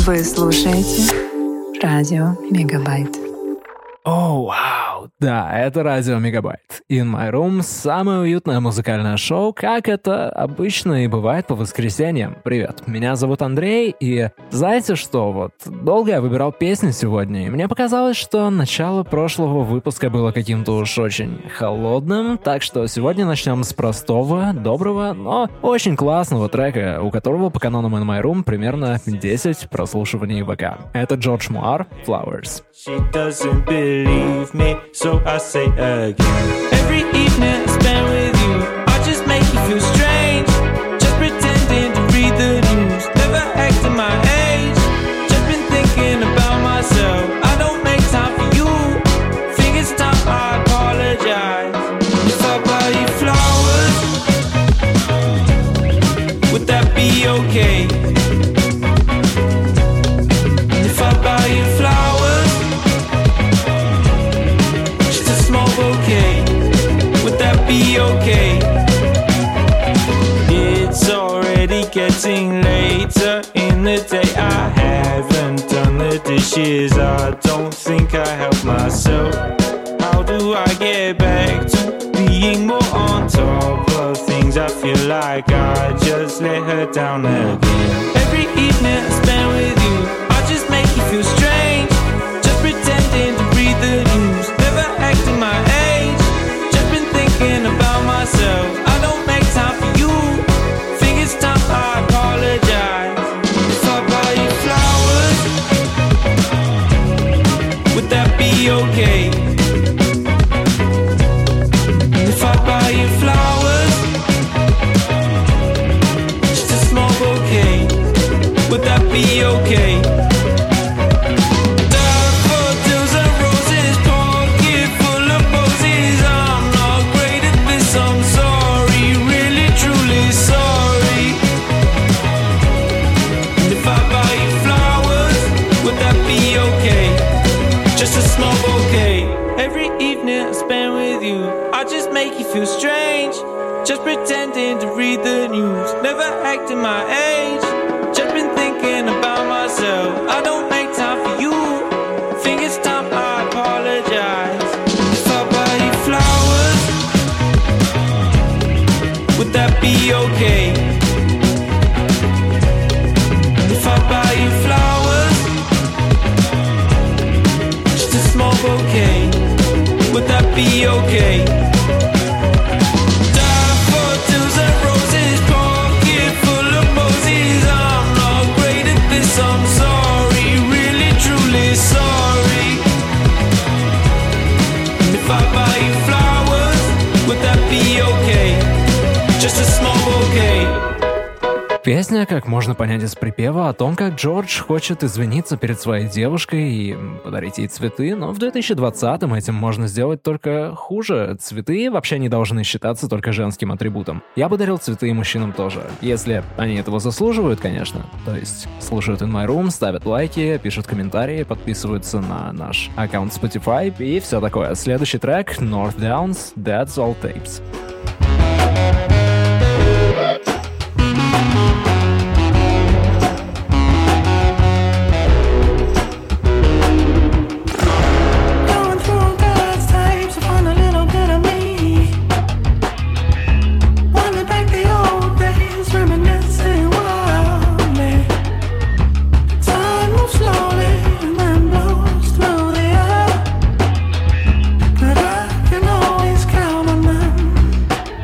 Вы слушаете Радио Мегабайт. О, вау! Да, это Радио Мегабайт. In My Room — самое уютное музыкальное шоу, как это обычно и бывает по воскресеньям. Привет, меня зовут Андрей, и знаете что, вот долго я выбирал песни сегодня, и мне показалось, что начало прошлого выпуска было каким-то уж очень холодным, так что сегодня начнем с простого, доброго, но очень классного трека, у которого по канонам In My Room примерно 10 прослушиваний в ВК. Это Джордж Муар, Flowers. She doesn't believe me, so I say again. Every evening I spend with you, I just make you feel strange. Just pretending to read the news, never acting my age. Just been thinking about myself, I don't make time for you. Think it's time I apologize. If I buy you flowers, would that be okay? If I buy you flowers, okay, would that be okay? It's already getting later in the day. I haven't done the dishes, I don't think I help myself. How do I get back to being more on top of things? I feel like I just let her down again. Every evening I spend with you, I just make you feel strange. Just pretending to read the news, never acting my age. Just been thinking about myself, I don't make time for you. Think it's time I apologize. If I buy you flowers, would that be okay? If I buy you flowers, just a small bouquet, would that be okay? Just a small bouquet. Every evening I spend with you, I just make you feel strange. Just pretending to read the news, never acting my age. Just been thinking about myself, I don't make time for you. Think it's time I apologize. If I buy you flowers, would that be okay? If I buy you flowers, small bouquet, would that be okay? Daffodils and roses, pocket full of posies. I'm not great at this, I'm sorry, really truly sorry. If I buy you flowers, would that be okay? Just a small bouquet. Песня, как можно понять из припева, о том, как Джордж хочет извиниться перед своей девушкой и подарить ей цветы, но в 2020-м этим можно сделать только хуже. Цветы вообще не должны считаться только женским атрибутом. Я бы дарил цветы и мужчинам тоже, если они этого заслуживают, конечно. То есть слушают In My Room, ставят лайки, пишут комментарии, подписываются на наш аккаунт Spotify и все такое. Следующий трек — North Downs, That's All Tapes. But I can always count on them.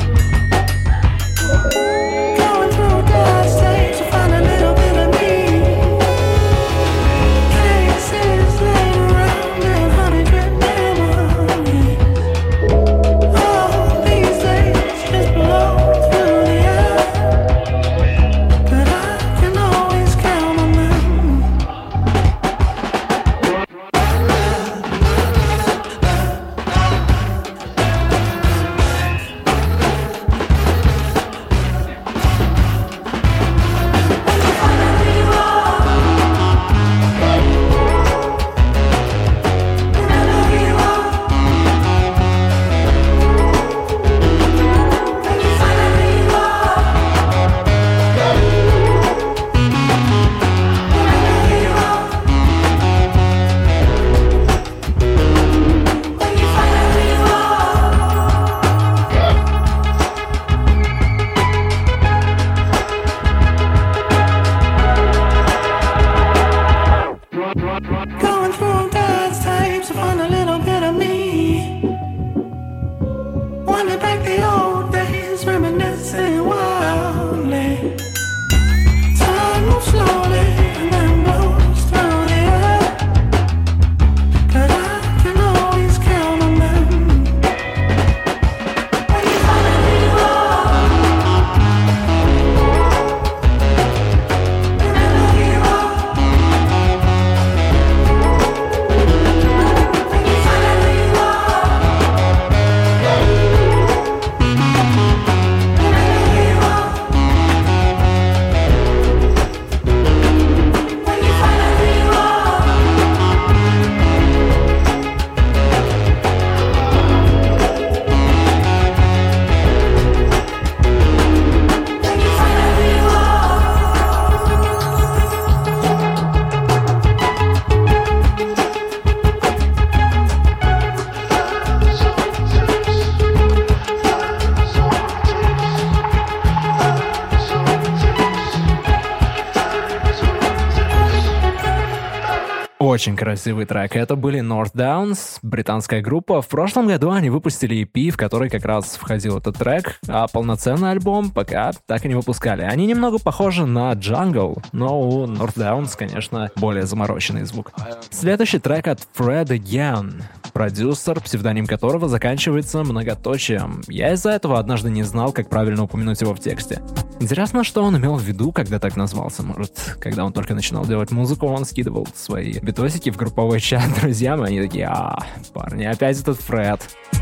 очень красивый трек. Это были North Downs, британская группа. В прошлом году они выпустили EP, в который как раз входил этот трек, а полноценный альбом пока так и не выпускали. Они немного похожи на Jungle, но у North Downs, конечно, более замороченный звук. Следующий трек от Fred Again, продюсер, псевдоним которого заканчивается многоточием. Я из-за этого однажды не знал, как правильно упомянуть его в тексте. Интересно, что он имел в виду, когда так назвался. Может, когда он только начинал делать музыку, он скидывал свои битосики в групповой чат друзьям, и они такие: парни, опять этот Фред.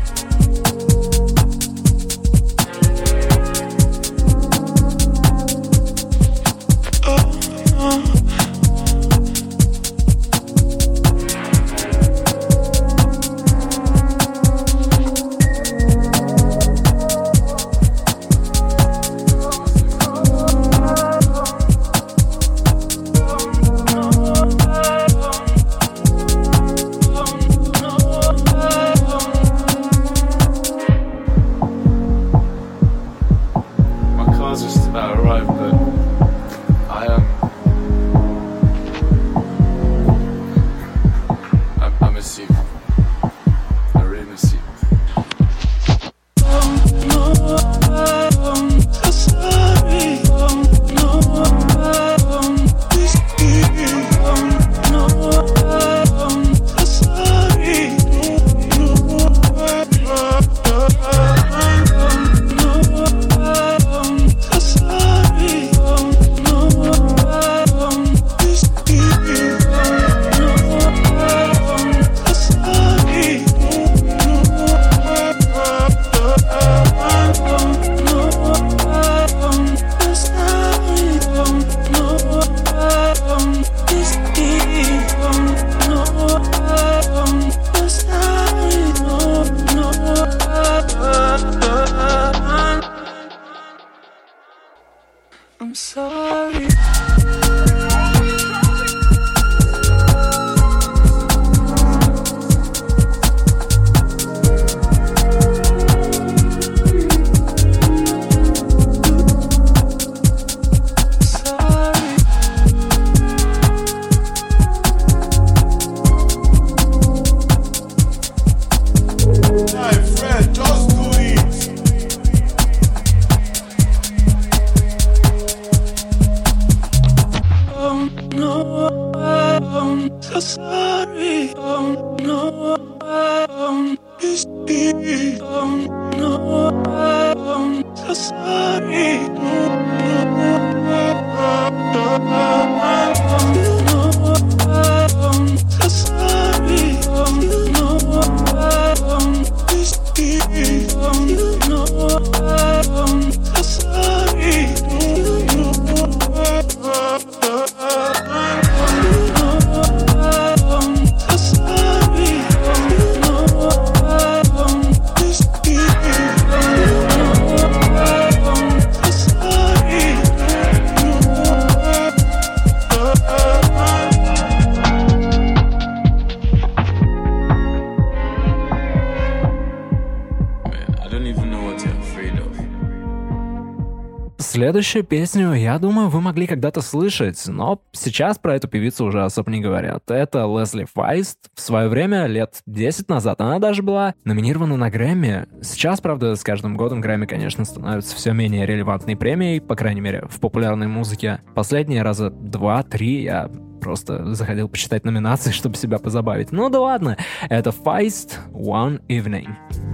Следующую песню, я думаю, вы могли когда-то слышать, но сейчас про эту певицу уже особо не говорят. Это Лесли Файст. В свое время, лет 10 назад, она даже была номинирована на Грэмми. Сейчас, правда, с каждым годом Грэмми, конечно, становится все менее релевантной премией, по крайней мере, в популярной музыке. Последние раза 2-3 я просто заходил почитать номинации, чтобы себя позабавить. Ну да ладно, это Feist One Evening.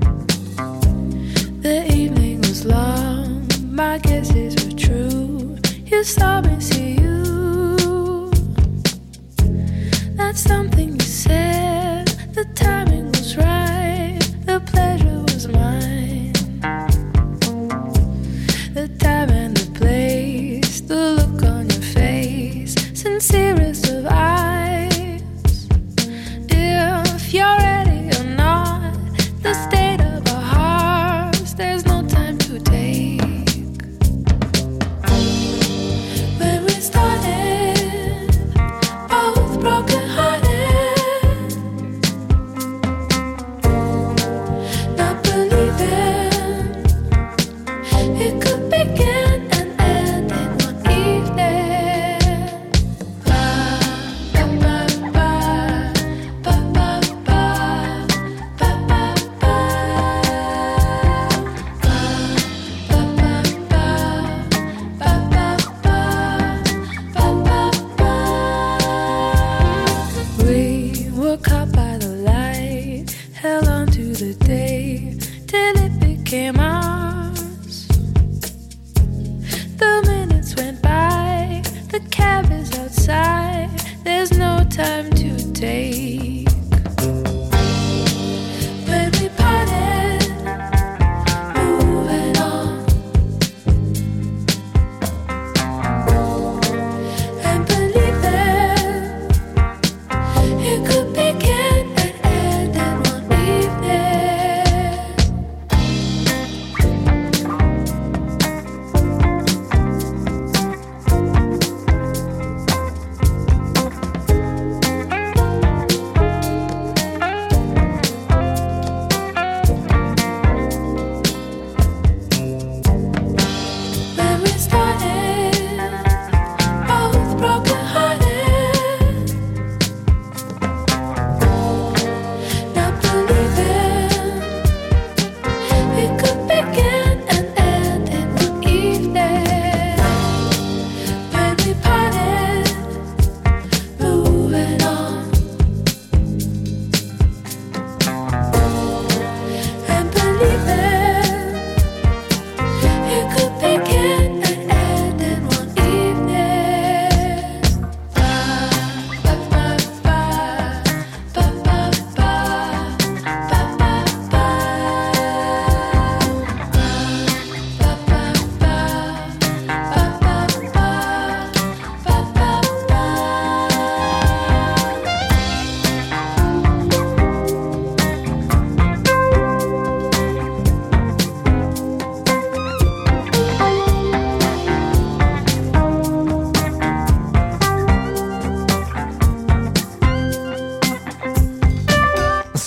The evening was long, my guesses were true. You saw me see you. That's something you said. The timing was right, the pleasure was mine. The time and the place, the look on your face, sincerest of eyes. If you're ready or not, the state of our hearts, there's no time to take. When we started, both broken hearted.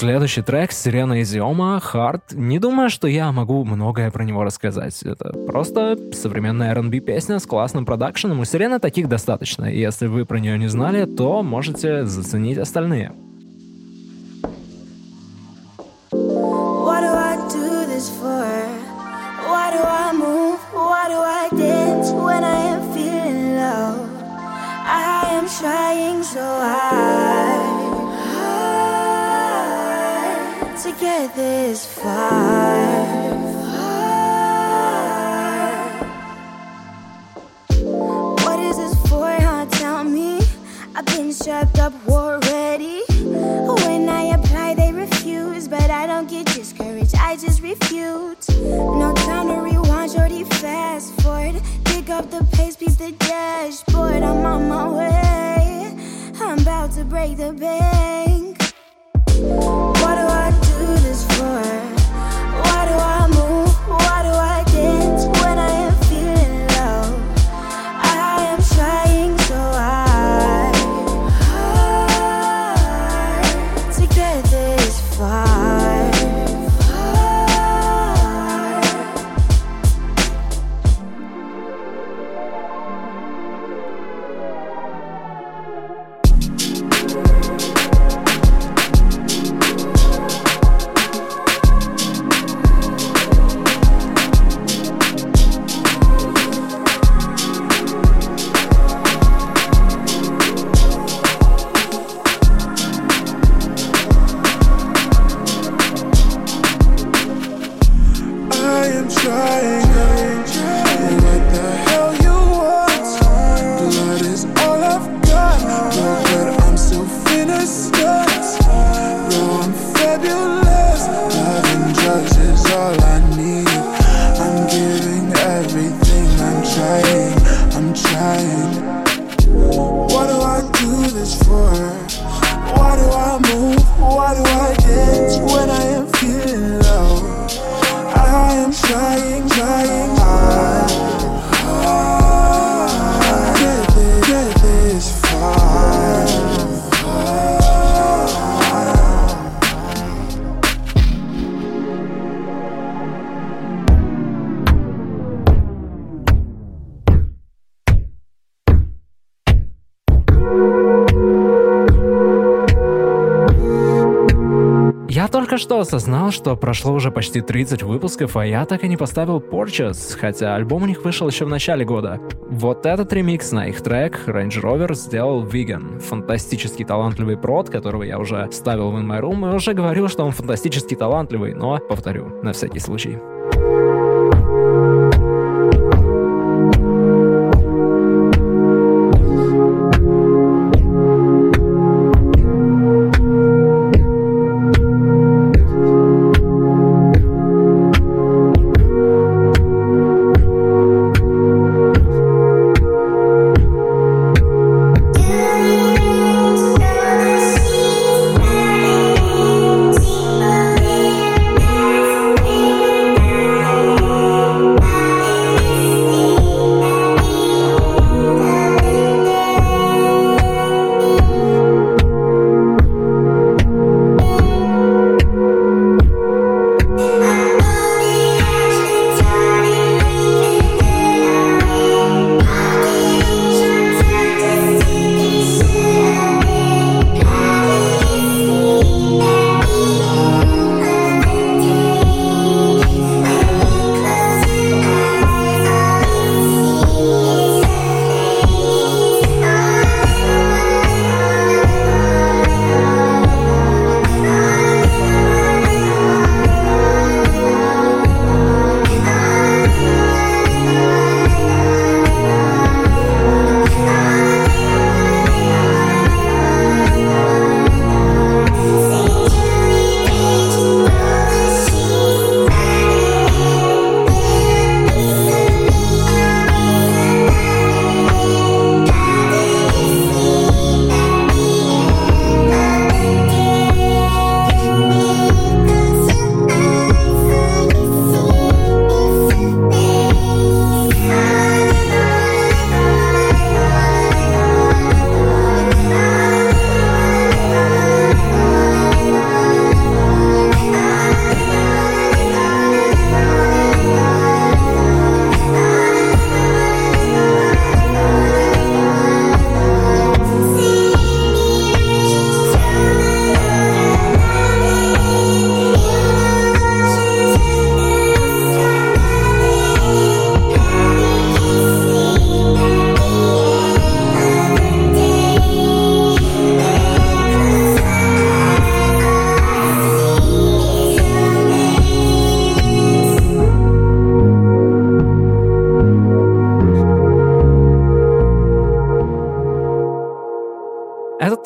Следующий трек Сирена Изиома «Hard». Не думаю, что я могу многое про него рассказать. Это просто современная R&B песня с классным продакшеном. У Сирены таких достаточно. И если вы про нее не знали, то можете заценить остальные. What do I do this for? Why do I move? Why do I dance when I am feeling low? I am trying so hard to get this far. What is this for, huh? Tell me. I've been strapped up already. When I apply, they refuse, but I don't get discouraged, I just refuse. No time to rewind, shorty, fast forward. Pick up the pace, peep the dashboard. I'm on my way, I'm about to break the bank. What do I do this for? Why do I move? Why do I dance when I am feeling low? I am trying so hard to get this far. Только что осознал, что прошло уже почти 30 выпусков, а я так и не поставил Porches, хотя альбом у них вышел еще в начале года. Вот этот ремикс на их трек Range Rover сделал Vegan. Фантастически талантливый прод, которого я уже ставил в In My Room, и уже говорил, что он фантастически талантливый, но повторю, на всякий случай.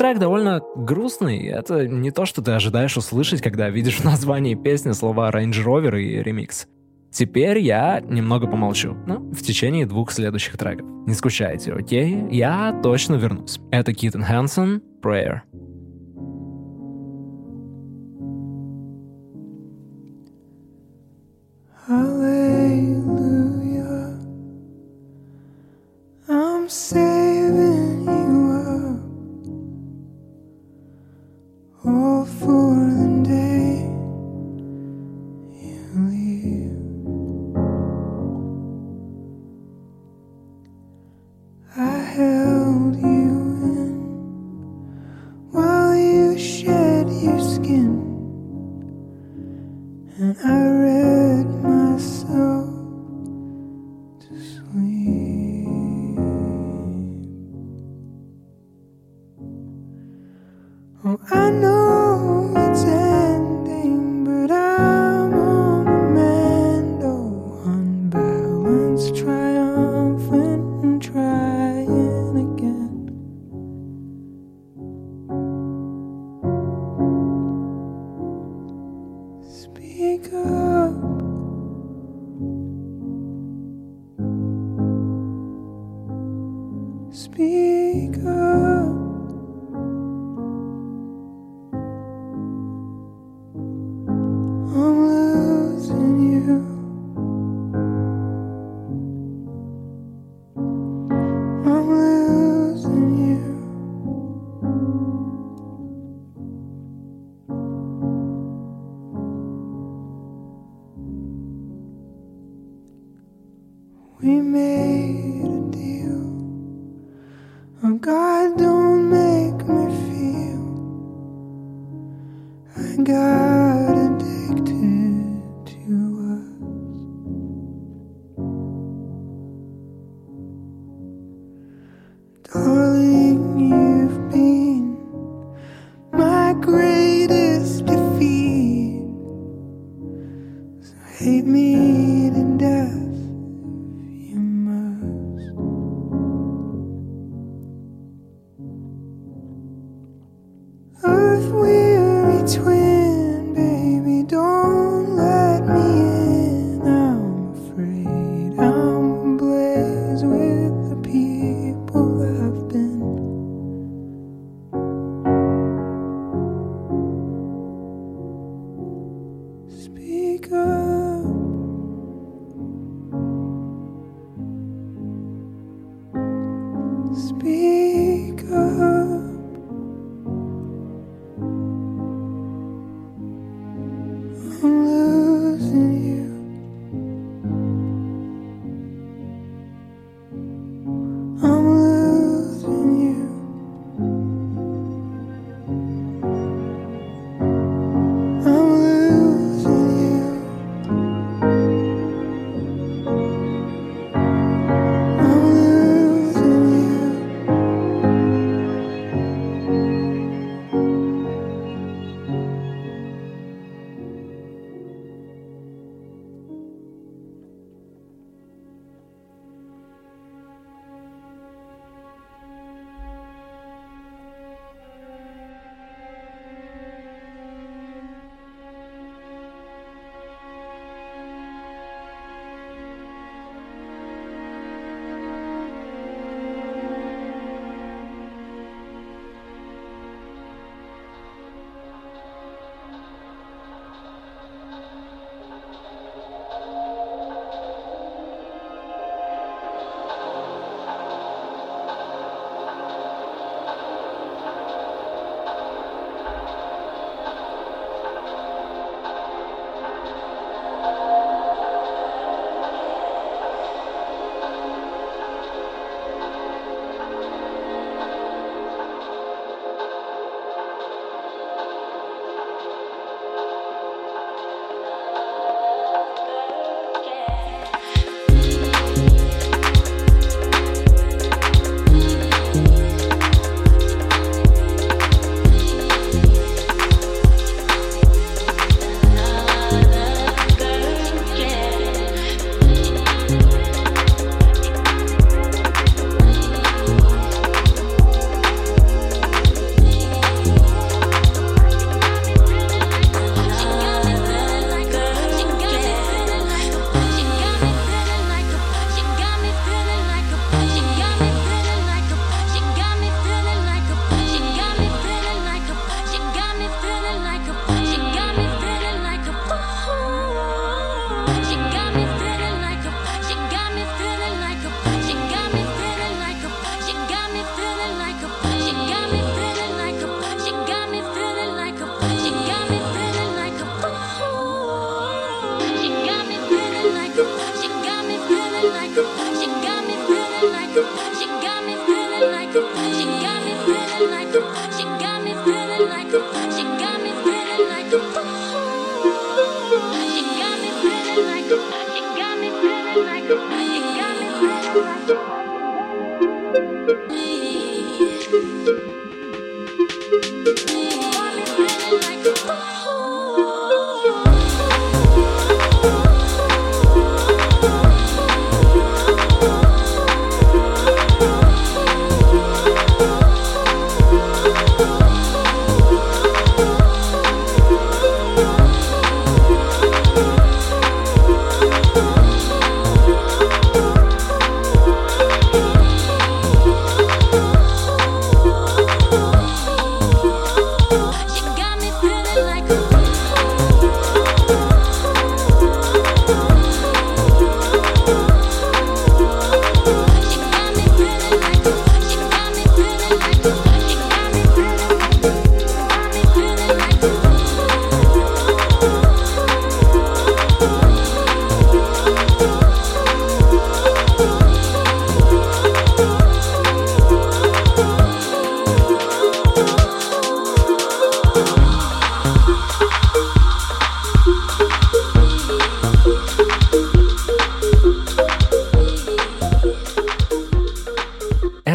трек довольно грустный. Это не то, что ты ожидаешь услышать, когда видишь в названии песни слова Range Rover и ремикс. Теперь я немного помолчу, в течение 2 следующих треков. Не скучайте, окей? Я точно вернусь. Это Keaton Hansen, Prayer. Hallelujah, I'm saving you up, all for the day you leave. I held you in while you shed your skin, and I read myself to sleep. Oh, I know it's ending, but I'm on the mend. Oh, unbalanced, triumphant, and trying again. Speak up. Speak up. I'm losing you. I'm losing you. We made a deal. Oh God, don't make me feel I got addicted to us. Darling, you've been my greatest defeat. So hate me to death, you must. Earth-weary twin, baby, don't let me in. I'm afraid I'm ablaze with the people I've been. Speak up. Speak up. I'm losing you. I'm losing you. I'm losing you. I'm losing you.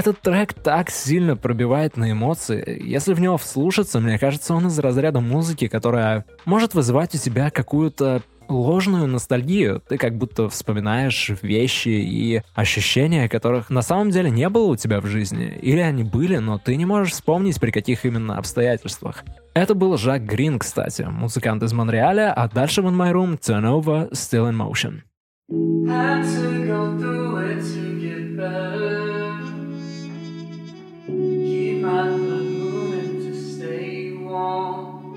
Этот трек так сильно пробивает на эмоции. Если в него вслушаться, мне кажется, он из разряда музыки, которая может вызывать у тебя какую-то ложную ностальгию. Ты как будто вспоминаешь вещи и ощущения, которых на самом деле не было у тебя в жизни. Или они были, но ты не можешь вспомнить, при каких именно обстоятельствах. Это был Жак Грин, кстати, музыкант из Монреаля, а дальше в In My Room Turn Over, Still in Motion. Had to go through it to get better. Keep my blood moving to stay warm.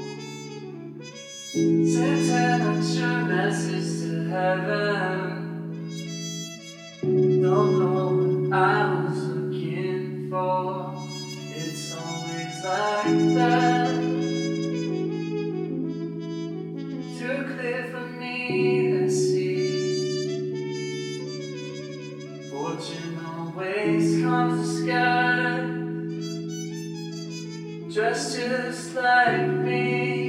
Sent an extra message to heaven. Don't know what I was looking for. It's always like that. Too clear for me to see. Fortune always comes to sky. Dressed just like me.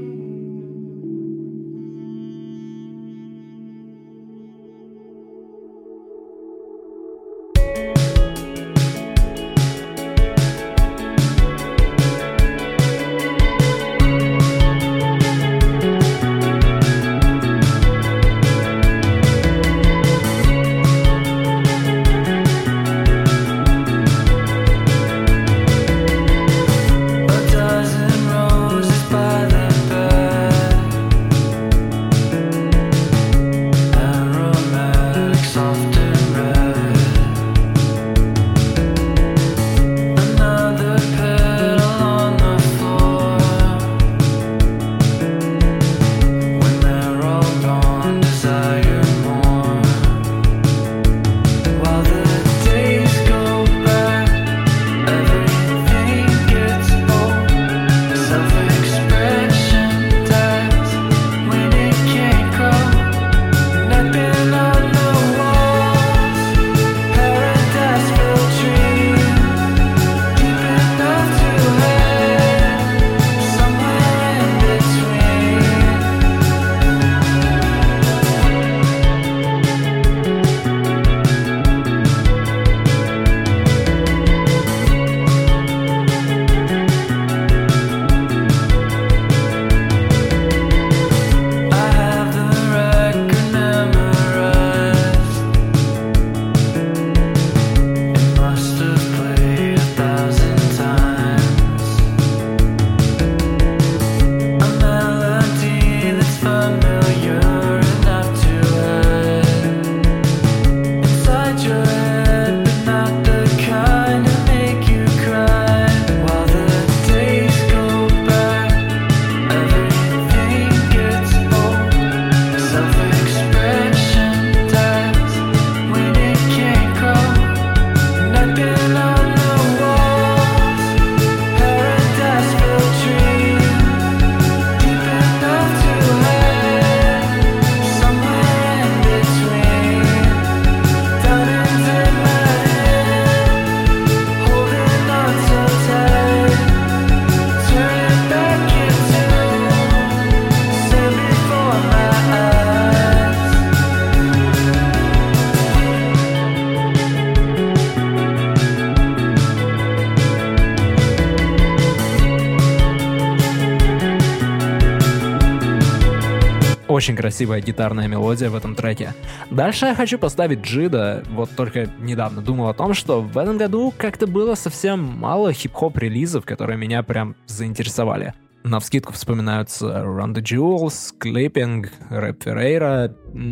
Очень красивая гитарная мелодия в этом треке. Дальше я хочу поставить Джида. Вот только недавно думал о том, что в этом году как-то было совсем мало хип-хоп релизов, которые меня прям заинтересовали. Навскидку вспоминаются Run the Jewels, Clipping, Рэп Феррейра,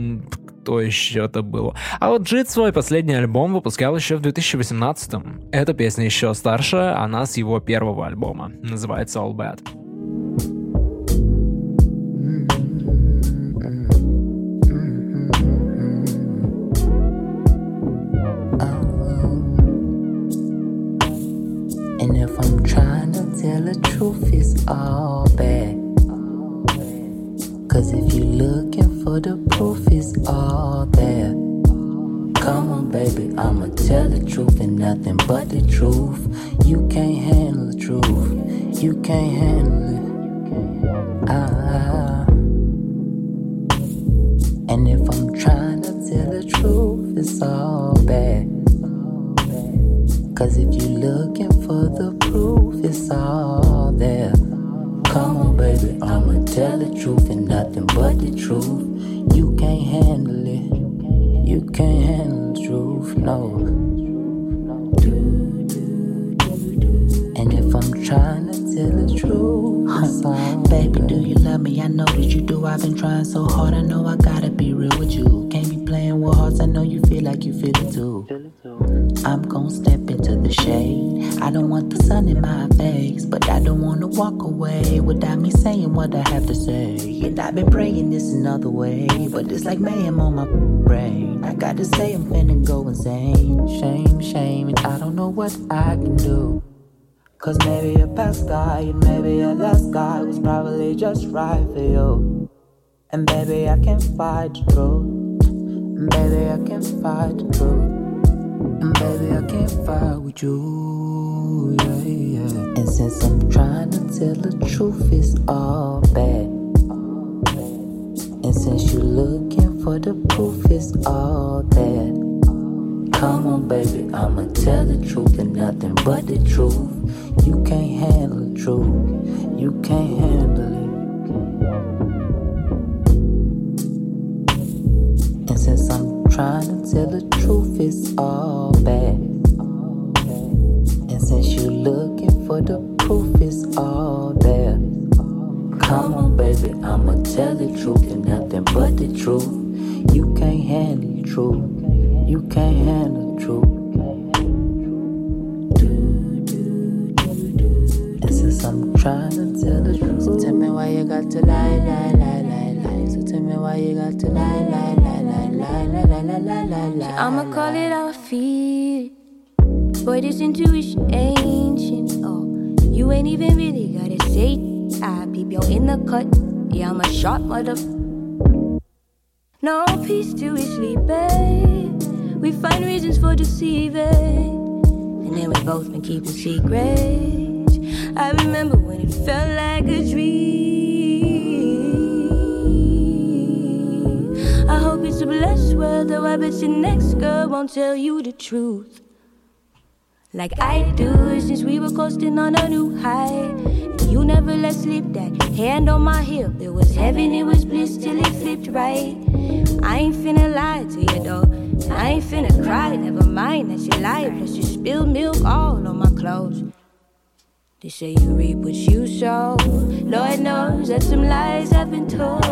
кто еще это было. А вот Джид свой последний альбом выпускал еще в 2018-м. Эта песня еще старше, она с его первого альбома. Называется All Bad. And if I'm trying to tell the truth, it's all bad. Cause if you're looking for the proof, it's all there. Come on, baby, I'ma tell the truth and nothing but the truth. You can't handle the truth. You can't handle it. And if I'm trying to tell the truth, it's all bad. 'Cause if you're looking for the proof, it's all there. Come on, baby, I'ma tell the truth and nothing but the truth. You can't handle it. You can't handle the truth, no. And if I'm trying to tell the truth, baby, do you love me? I know that you do. I've been trying so hard. I know I gotta be real with you. Can't be playing with hearts. I know you feel like you feel it too. I'm gon' step into the shade. I don't want the sun in my face, but I don't wanna walk away without me saying what I have to say. And I've been praying this another way, but it's like mayhem on my brain. I gotta say I'm finna go insane. Shame, shame, and I don't know what I can do. 'Cause maybe your past guy and maybe your last guy was probably just right for you. And baby, I can't fight the truth. And baby, I can't fight the truth. And baby, I can't fight with you, yeah, yeah. And since I'm trying to tell the truth, it's all bad. And since you're looking for the proof, it's all there. Come on, baby, I'ma tell the truth and nothing but the truth. You can't handle the truth. You can't handle it. And since I'm trying to tell the truth, it's all bad. And since you're looking for the proof, it's all there. Come on, baby, I'ma tell the truth and nothing but the truth. You can't handle the truth. You can't handle the truth. And since I'm trying to tell the truth, so tell me why you got to lie, lie, lie, lie, lie. So tell me why you got to lie, lie, lie, lie, lie, lie, lie, lie, lie, lie. I'ma call it how I feel. Boy, this intuition ancient. Oh, you ain't even really gotta say. I peep yo in the cut. Yeah, I'm a sharp mother. No peace till we sleep, babe. We find reasons for deceiving, and then we both been keeping secrets. I remember when it felt like a dream. I hope it's a blessed world, though I bet your next girl won't tell you the truth like I do, since we were coasting on a new high. And you never let slip that hand on my hip. It was heaven, it was bliss till it flipped right. I ain't finna lie to you though, I ain't finna cry, never mind that you lie. Plus you spilled milk all on my clothes. They say you reap what you sow. Lord knows that some lies have been told.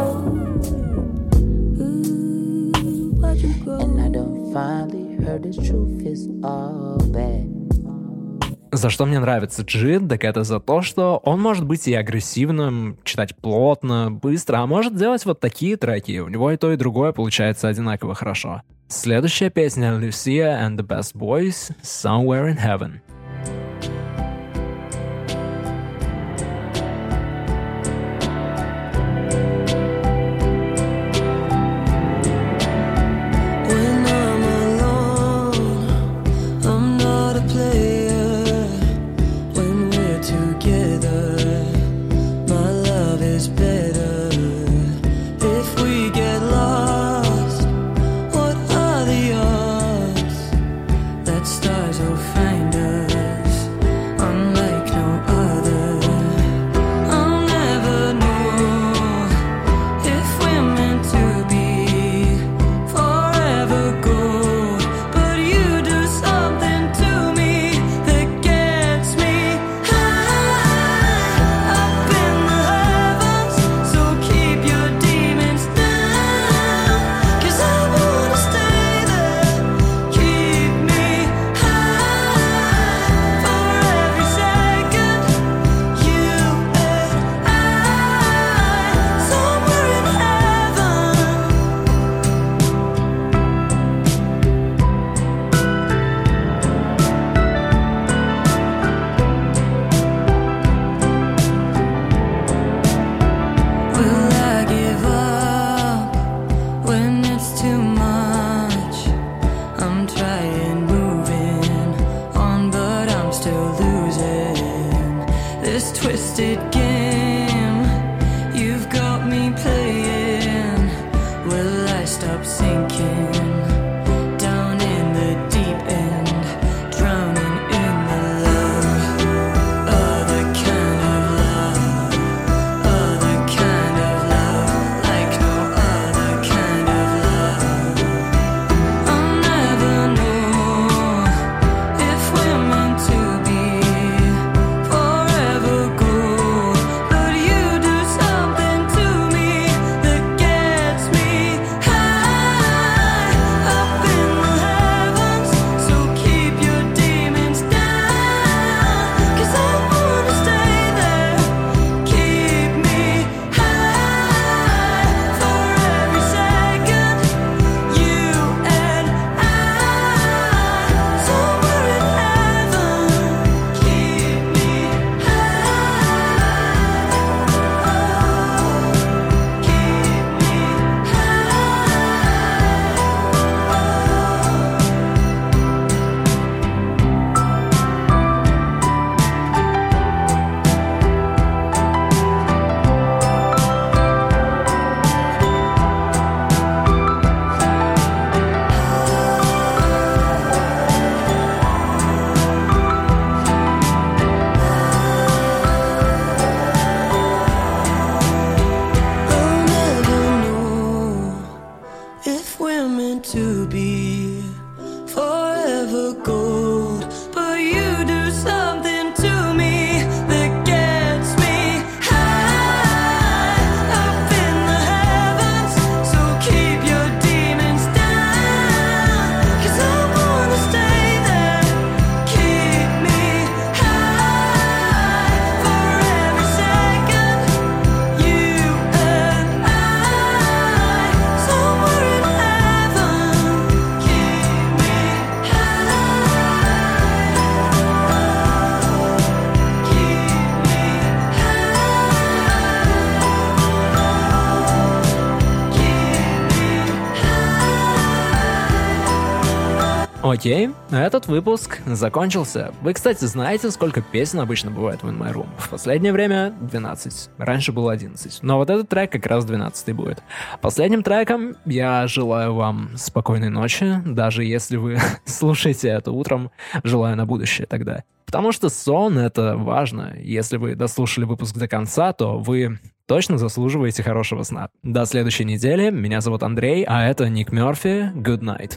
Ooh, watch 'em go. And I done finally heard the truth is all bad. За что мне нравится Джид, так это за то, что он может быть и агрессивным, читать плотно, быстро, а может делать вот такие треки. У него и то, и другое получается одинаково хорошо. Следующая песня Lucia and the Best Boys, Somewhere in Heaven. Stars will find us. Окей, этот выпуск закончился. Вы, кстати, знаете, сколько песен обычно бывает в In My Room? В последнее время 12. Раньше было 11. Но вот этот трек как раз 12 будет. Последним треком я желаю вам спокойной ночи, даже если вы слушаете это утром, желаю на будущее тогда. Потому что сон — это важно. Если вы дослушали выпуск до конца, то вы точно заслуживаете хорошего сна. До следующей недели. Меня зовут Андрей, а это Ник Мёрфи. Good night.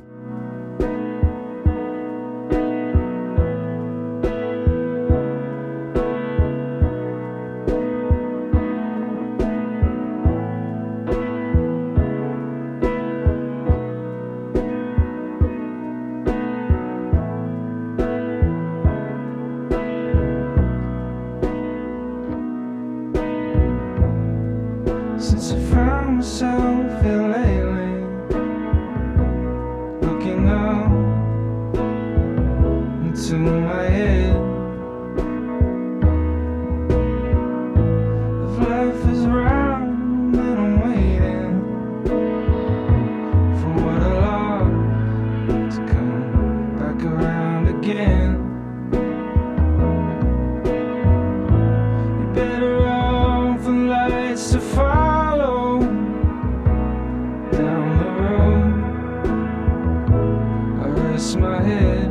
Since I found myself here lately, looking up into my head, if life is round, then I'm waiting for what I lost to come back around again. You're better off with lights to follow down the road. I rest my head.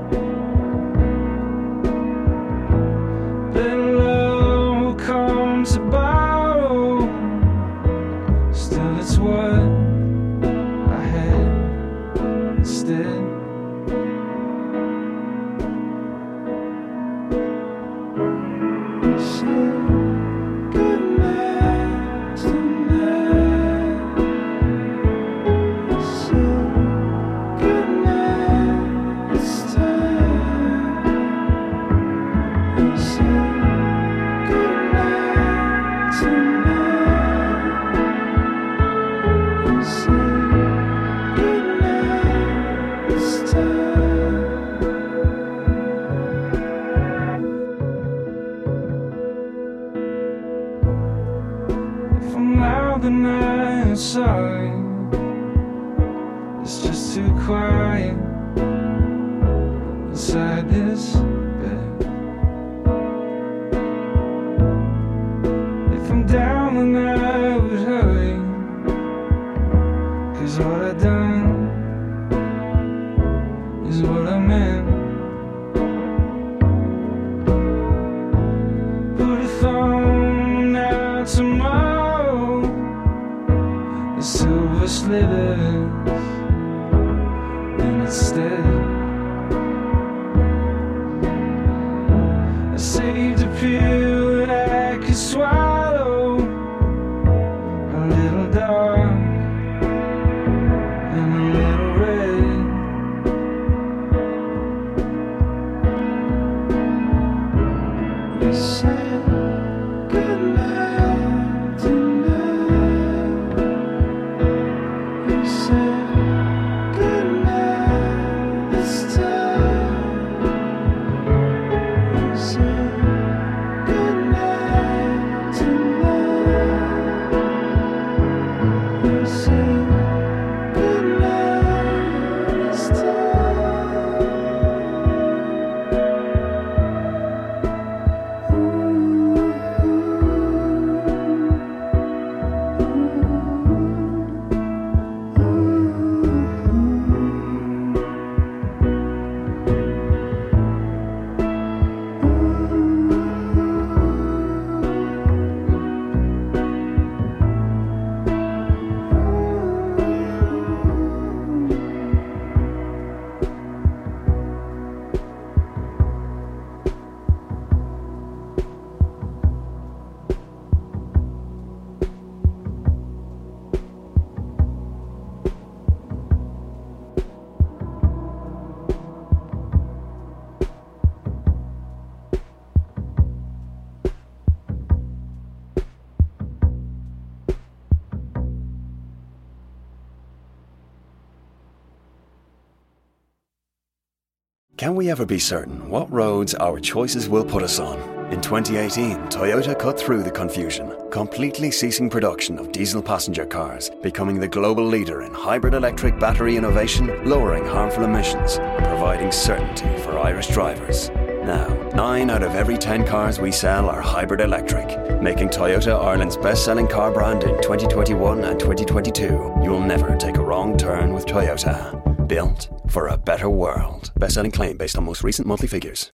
Better love will come to borrow. Still, it's what I had instead. Good night tonight. Good night this time. Good night tonight. Good night this time. If I'm loud, then I'm sorry. It's just too quiet inside this bed. If I'm down, then I would hurry, 'cause what I done is what I meant. Put a thumb out tomorrow, the silver slivers, and instead I saved a pill that I could swallow, a little dark and a little red. You said good night tonight. You said good night this time. You said good night tonight. You said good night this time. Can we ever be certain what roads our choices will put us on? In 2018, Toyota cut through the confusion completely ceasing production of diesel passenger cars, becoming the global leader in hybrid electric battery innovation, lowering harmful emissions, and providing certainty for Irish drivers. Now, 9 out of every 10 cars we sell are hybrid electric, making Toyota Ireland's best-selling car brand in 2021 and 2022. You'll never take a wrong turn with Toyota. Built for a better world. Best-selling claim based on most recent monthly figures.